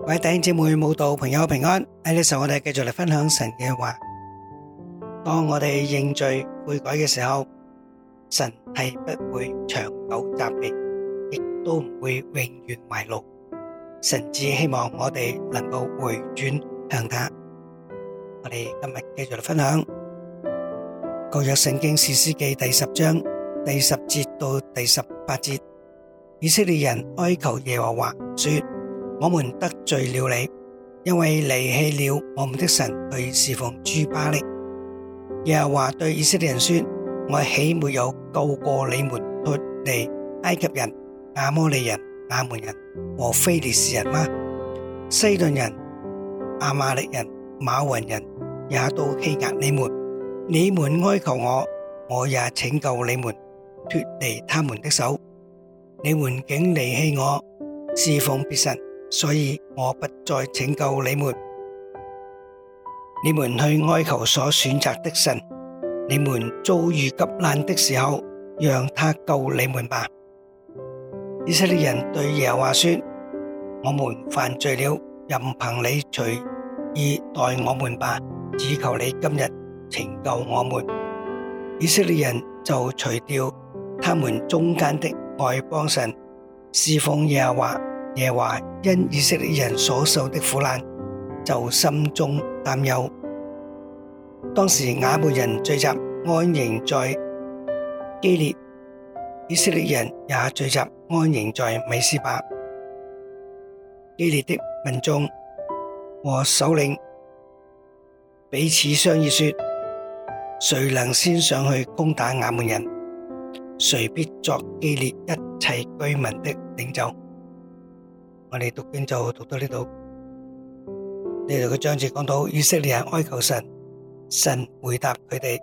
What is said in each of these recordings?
各位弟兄姊妹、慕道朋友平安。喺呢時候，我哋繼續嚟分享神嘅話。當我哋認罪悔改嘅時候，神係不會長久責備，亦都唔會永遠懷怒。神只希望我哋能夠回轉向他。我哋今日繼續嚟分享舊約聖經士師記第10章第10節到第18節。以色列人哀求耶和華說：我們得罪了你，因為離棄了我們的神去侍奉諸巴力。耶和華對以色列人說：我豈沒有救過你們脫離埃及人、亞摩利人、亞捫人和非利士人嗎？西頓人、亞瑪力人、瑪雲人也都欺壓你們。你們哀求我，我也拯救你們脫離他們的手。你們竟離棄我，侍奉別神，所以我不再拯救你們。你們去哀求所選擇的神，你們遭遇急難的時候，讓他救你們吧。以色列人對耶和華說：我們犯罪了，任憑你隨意待我們吧，只求你今日拯救我們。以色列人就除掉他們中間的外邦神，侍奉耶和華。耶和華因以色列人所受的苦難，就心中擔憂。當時亞捫人聚集安營在基列，以色列人也聚集安營在米斯巴。基列的民眾和首領彼此商議說：誰能先上去攻打亞捫人，誰必作基列一切居民的領袖。我哋讀經就讀到呢度。呢度嘅章節講到以色列人哀求神，神回答佢哋，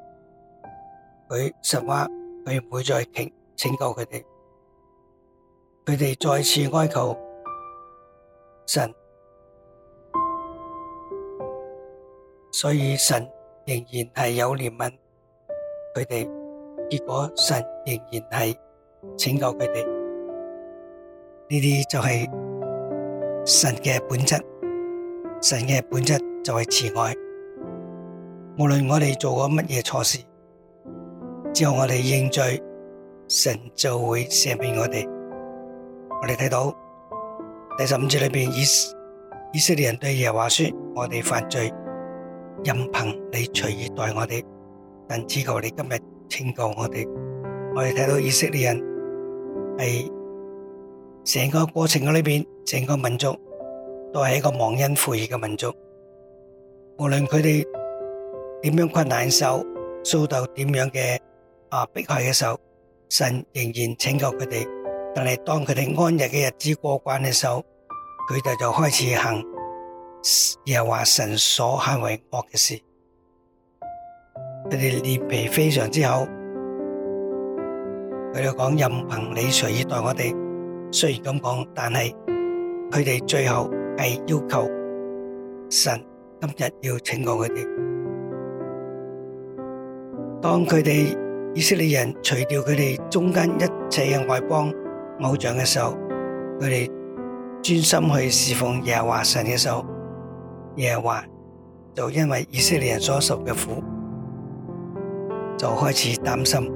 神話佢唔會再拯救佢哋。佢哋再次哀求神，所以神仍然係有憐憫佢哋。結果神仍然係拯救佢哋。呢啲就係神嘅本質，神嘅本質就係慈愛。無論我哋做過乜嘢錯事，只要我哋認罪，神就會赦免我哋。我哋睇到第15節裏邊，以色列人對耶和華說：我哋犯罪，任憑你隨意待我哋，但只求你今日拯救我哋。我哋睇到以色列人係成個過程嘅裏邊，整個民族都係一個忘恩負義嘅民族。無論佢哋點樣困難嘅時候，遭到點樣嘅迫害嘅時候，神仍然拯救佢哋。但係當佢哋安逸嘅日子過慣嘅時候，佢哋就開始行耶和華神所行為惡嘅事。佢哋臉皮非常之厚，佢哋講任憑你隨意待我哋。雖然咁講，但係佢哋最後係要求神今日要拯救佢哋。當佢哋以色列人除掉佢哋中間一切嘅外邦偶像嘅時候，佢哋專心去侍奉耶和華神嘅時候，耶和華就因為以色列人所受嘅苦，就開始擔心。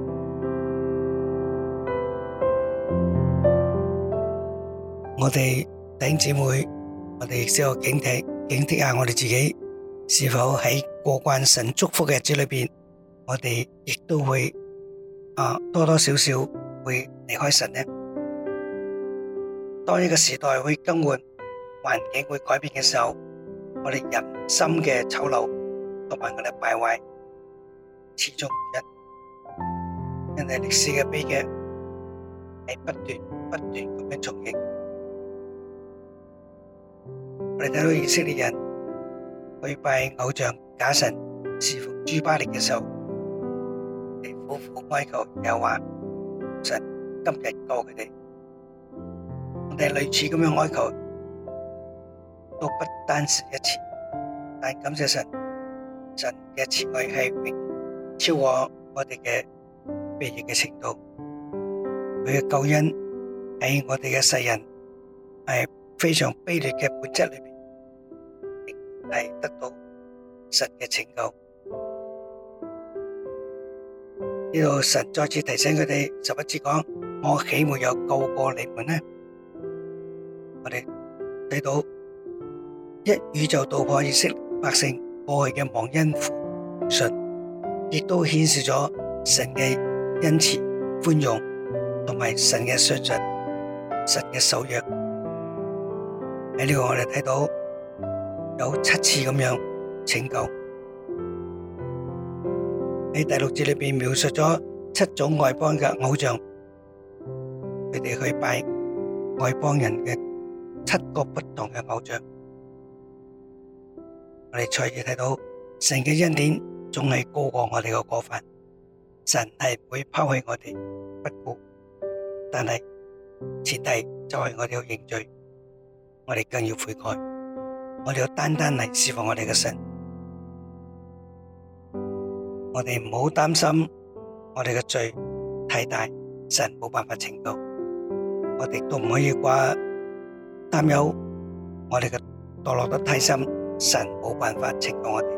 我哋弟兄姊妹，我哋亦都要警惕下我哋自己，是否喺過慣神祝福嘅日子裏邊，我哋亦都會多多少少會離開神呢？當一個時代會更換，環境會改變嘅時候，我哋人心嘅醜陋同埋我哋敗壞始終如一，因為歷史嘅悲劇係不斷咁樣重演。我哋睇到以色列人去拜偶像假神，侍奉諸巴力嘅時候，嚟苦苦哀求耶和華神今日救佢哋。我哋類似咁樣哀求，都不單是一次，但感謝神，神嘅慈愛係永超過我哋嘅悖逆嘅程度。佢嘅救恩喺我哋嘅世人係非常卑劣嘅本質裏邊，仍然係得到神嘅拯救。呢度神再次提醒佢哋11節講：我豈沒有救過你們呢？我哋睇到一語就道破以色列百姓過去嘅忘恩負信，亦都顯示咗神嘅恩慈寬容同埋神嘅信實，神嘅守約。喺呢度我哋睇到有7次咁樣拯救。喺第6節裏邊描述咗7種外邦嘅偶像，佢哋去拜外邦人嘅7個不同嘅偶像。我哋再次睇到神嘅恩典總係高過我哋嘅過犯，神係唔會拋棄我哋不顧，但係前提就係我哋要認罪，我哋更要悔改，我哋要單單嚟侍奉我哋嘅神。我哋唔好擔心我哋嘅罪太大，神冇辦法拯救。我哋都唔可以掛擔憂我哋嘅墮落得太深，神冇辦法拯救我哋。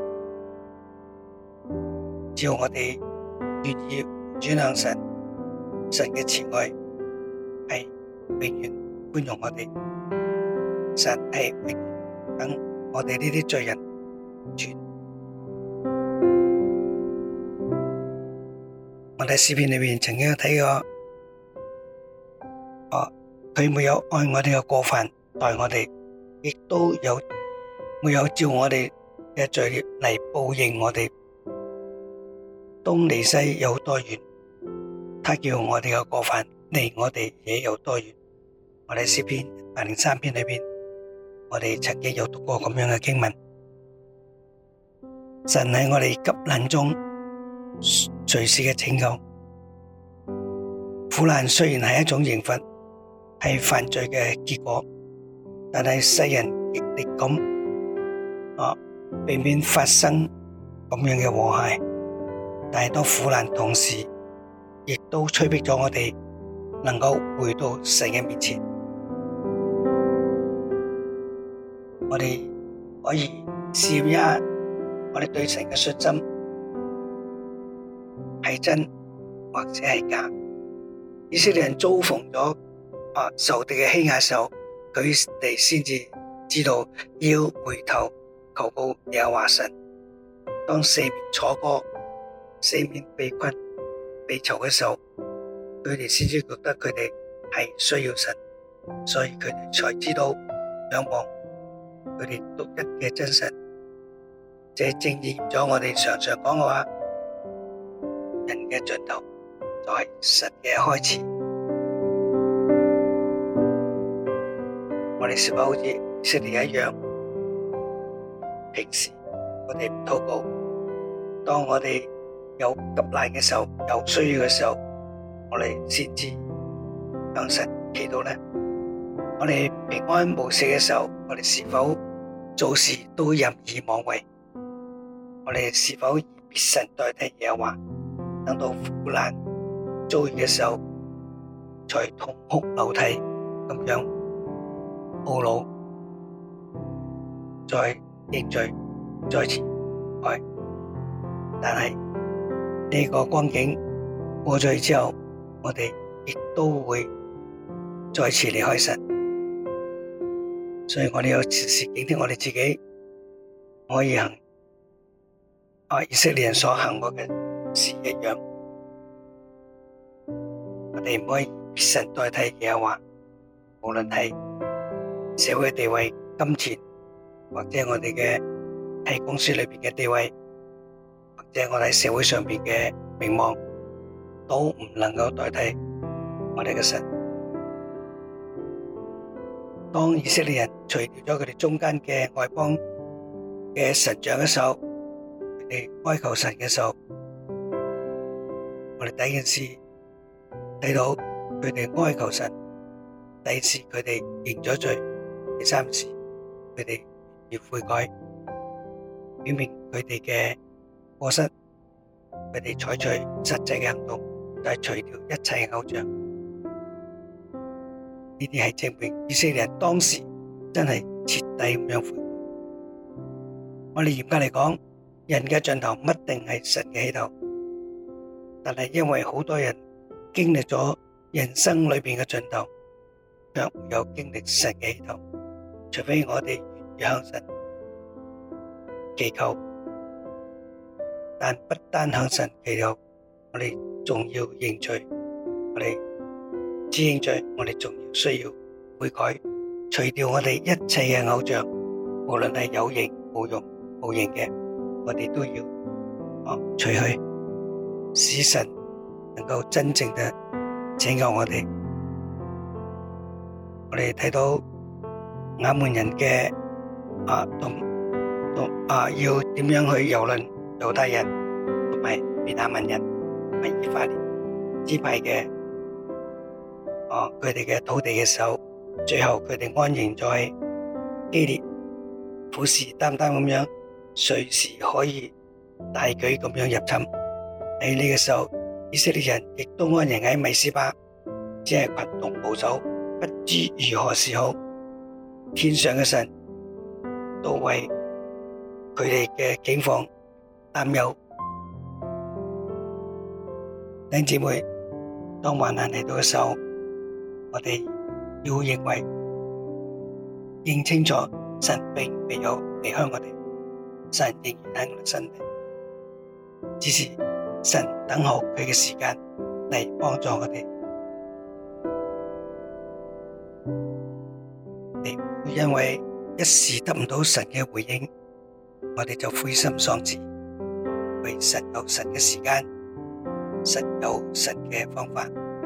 只要我哋願意轉向神，神嘅慈愛係永遠寬容我哋，神係永遠等我哋呢啲罪人轉。我哋詩篇裏面曾經睇過，佢沒有按我哋嘅過犯待我哋，亦都沒有照我哋嘅罪孽嚟報應我哋。東離西有多遠，他叫我哋嘅過犯離我哋也有多遠。我哋詩篇103篇裏邊，我哋曾經有讀過咁樣嘅經文。神喺我哋急難中隨時嘅拯救。苦難雖然係一種刑罰，係犯罪嘅結果，但係世人極力咁避免發生咁樣嘅禍害。但係當苦難同時，亦都催逼咗我哋能夠回到神嘅面前。我哋可以試驗一下，我哋對神嘅信心係真或者係假。以色列人遭逢咗仇敵嘅欺壓時候，佢哋先至知道要回頭求告耶和華神。當四面楚歌、四面被困被囚嘅時候，佢哋先至覺得佢哋係需要神，所以佢哋才知道仰望佢哋獨一嘅真神。這正應驗咗我哋常常講嘅話，人嘅盡頭就係神嘅開始。我哋是否好似以色列一樣，平時我哋唔禱告，當我哋有急難嘅時候，有需要嘅時候，我哋先至向神祈禱呢？我哋平安無事嘅時候，我哋是否做事都任意妄為？我哋是否以別神代替耶和華？等到苦難遭遇嘅時候，才痛哭流涕咁樣懊惱，再認罪，再次愛。但係呢個光景過咗去之後，我哋亦都會再次離開神，所以我哋要時時警惕我哋自己，可以行以色列人所行過嘅事一樣。我哋唔可以別神代替耶和華，無論係社會地位、金錢，或者我哋嘅喺公司裏邊嘅地位，或者我哋喺社會上邊嘅名望，都唔能夠代替我哋嘅神。當以色列人除掉咗佢哋中間嘅外邦嘅神像嘅時候，佢哋哀求神嘅時候，我哋第一件事睇到佢哋哀求神，第二次佢哋認咗罪，第三次佢哋要悔改，表明佢哋嘅過失，佢哋採取實際嘅行動，就係除掉一切偶像。呢啲係證明以色列人當時真係徹底咁樣悔改。我哋嚴格嚟講，人嘅盡頭唔一定係神嘅起頭，但係因為好多人經歷咗人生裏邊嘅盡頭，卻沒有經歷神嘅起頭。除非我哋願意向神祈求，但不單向神祈求，我哋仲要認罪。我哋只認罪，我哋仲要需要悔改，除掉我哋一切嘅偶像，無論係有形無用無形嘅，我哋都要除去，使神能夠真正嘅拯救我哋。我哋睇到亞捫人嘅要點樣去蹂躪猶大人同埋便雅憫人同埋以法蓮支派嘅佢哋嘅土地嘅時候，最後佢哋安營在基列，虎視眈眈咁樣，隨時可以大舉咁樣入侵。喺呢個時候，以色列人亦都安營喺米斯巴，只係群龍無首，不知如何是好。天上嘅神都為佢哋嘅境況擔憂。弟兄姊妹，當患難嚟到嘅時候，我哋要認清楚，神並未有離開我哋，神仍然喺我哋身邊，只是神等候佢嘅時間嚟幫助我哋。你唔會因為一時得唔到神嘅回應，我哋就灰心喪志。為神有神嘅時間，神有神嘅方法，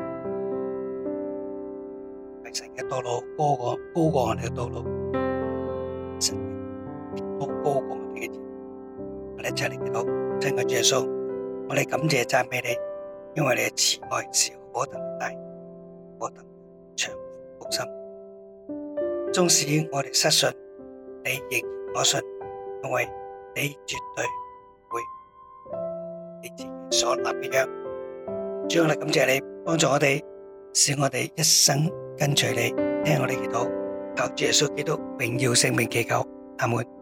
為神嘅道路高過我哋嘅道路，神都高過我哋嘅意。我哋一齊嚟祈禱。親愛的主耶穌，我哋感謝讚美你，因為你嘅慈愛是何等大，何等長闊深。縱使我哋失信，你仍然可信，因為你絕對會你自己所立嘅約。主，我哋感謝你幫助我哋，使我哋一生跟隨你，聽我哋祈禱，靠主耶穌基督榮耀聖名祈求，阿門。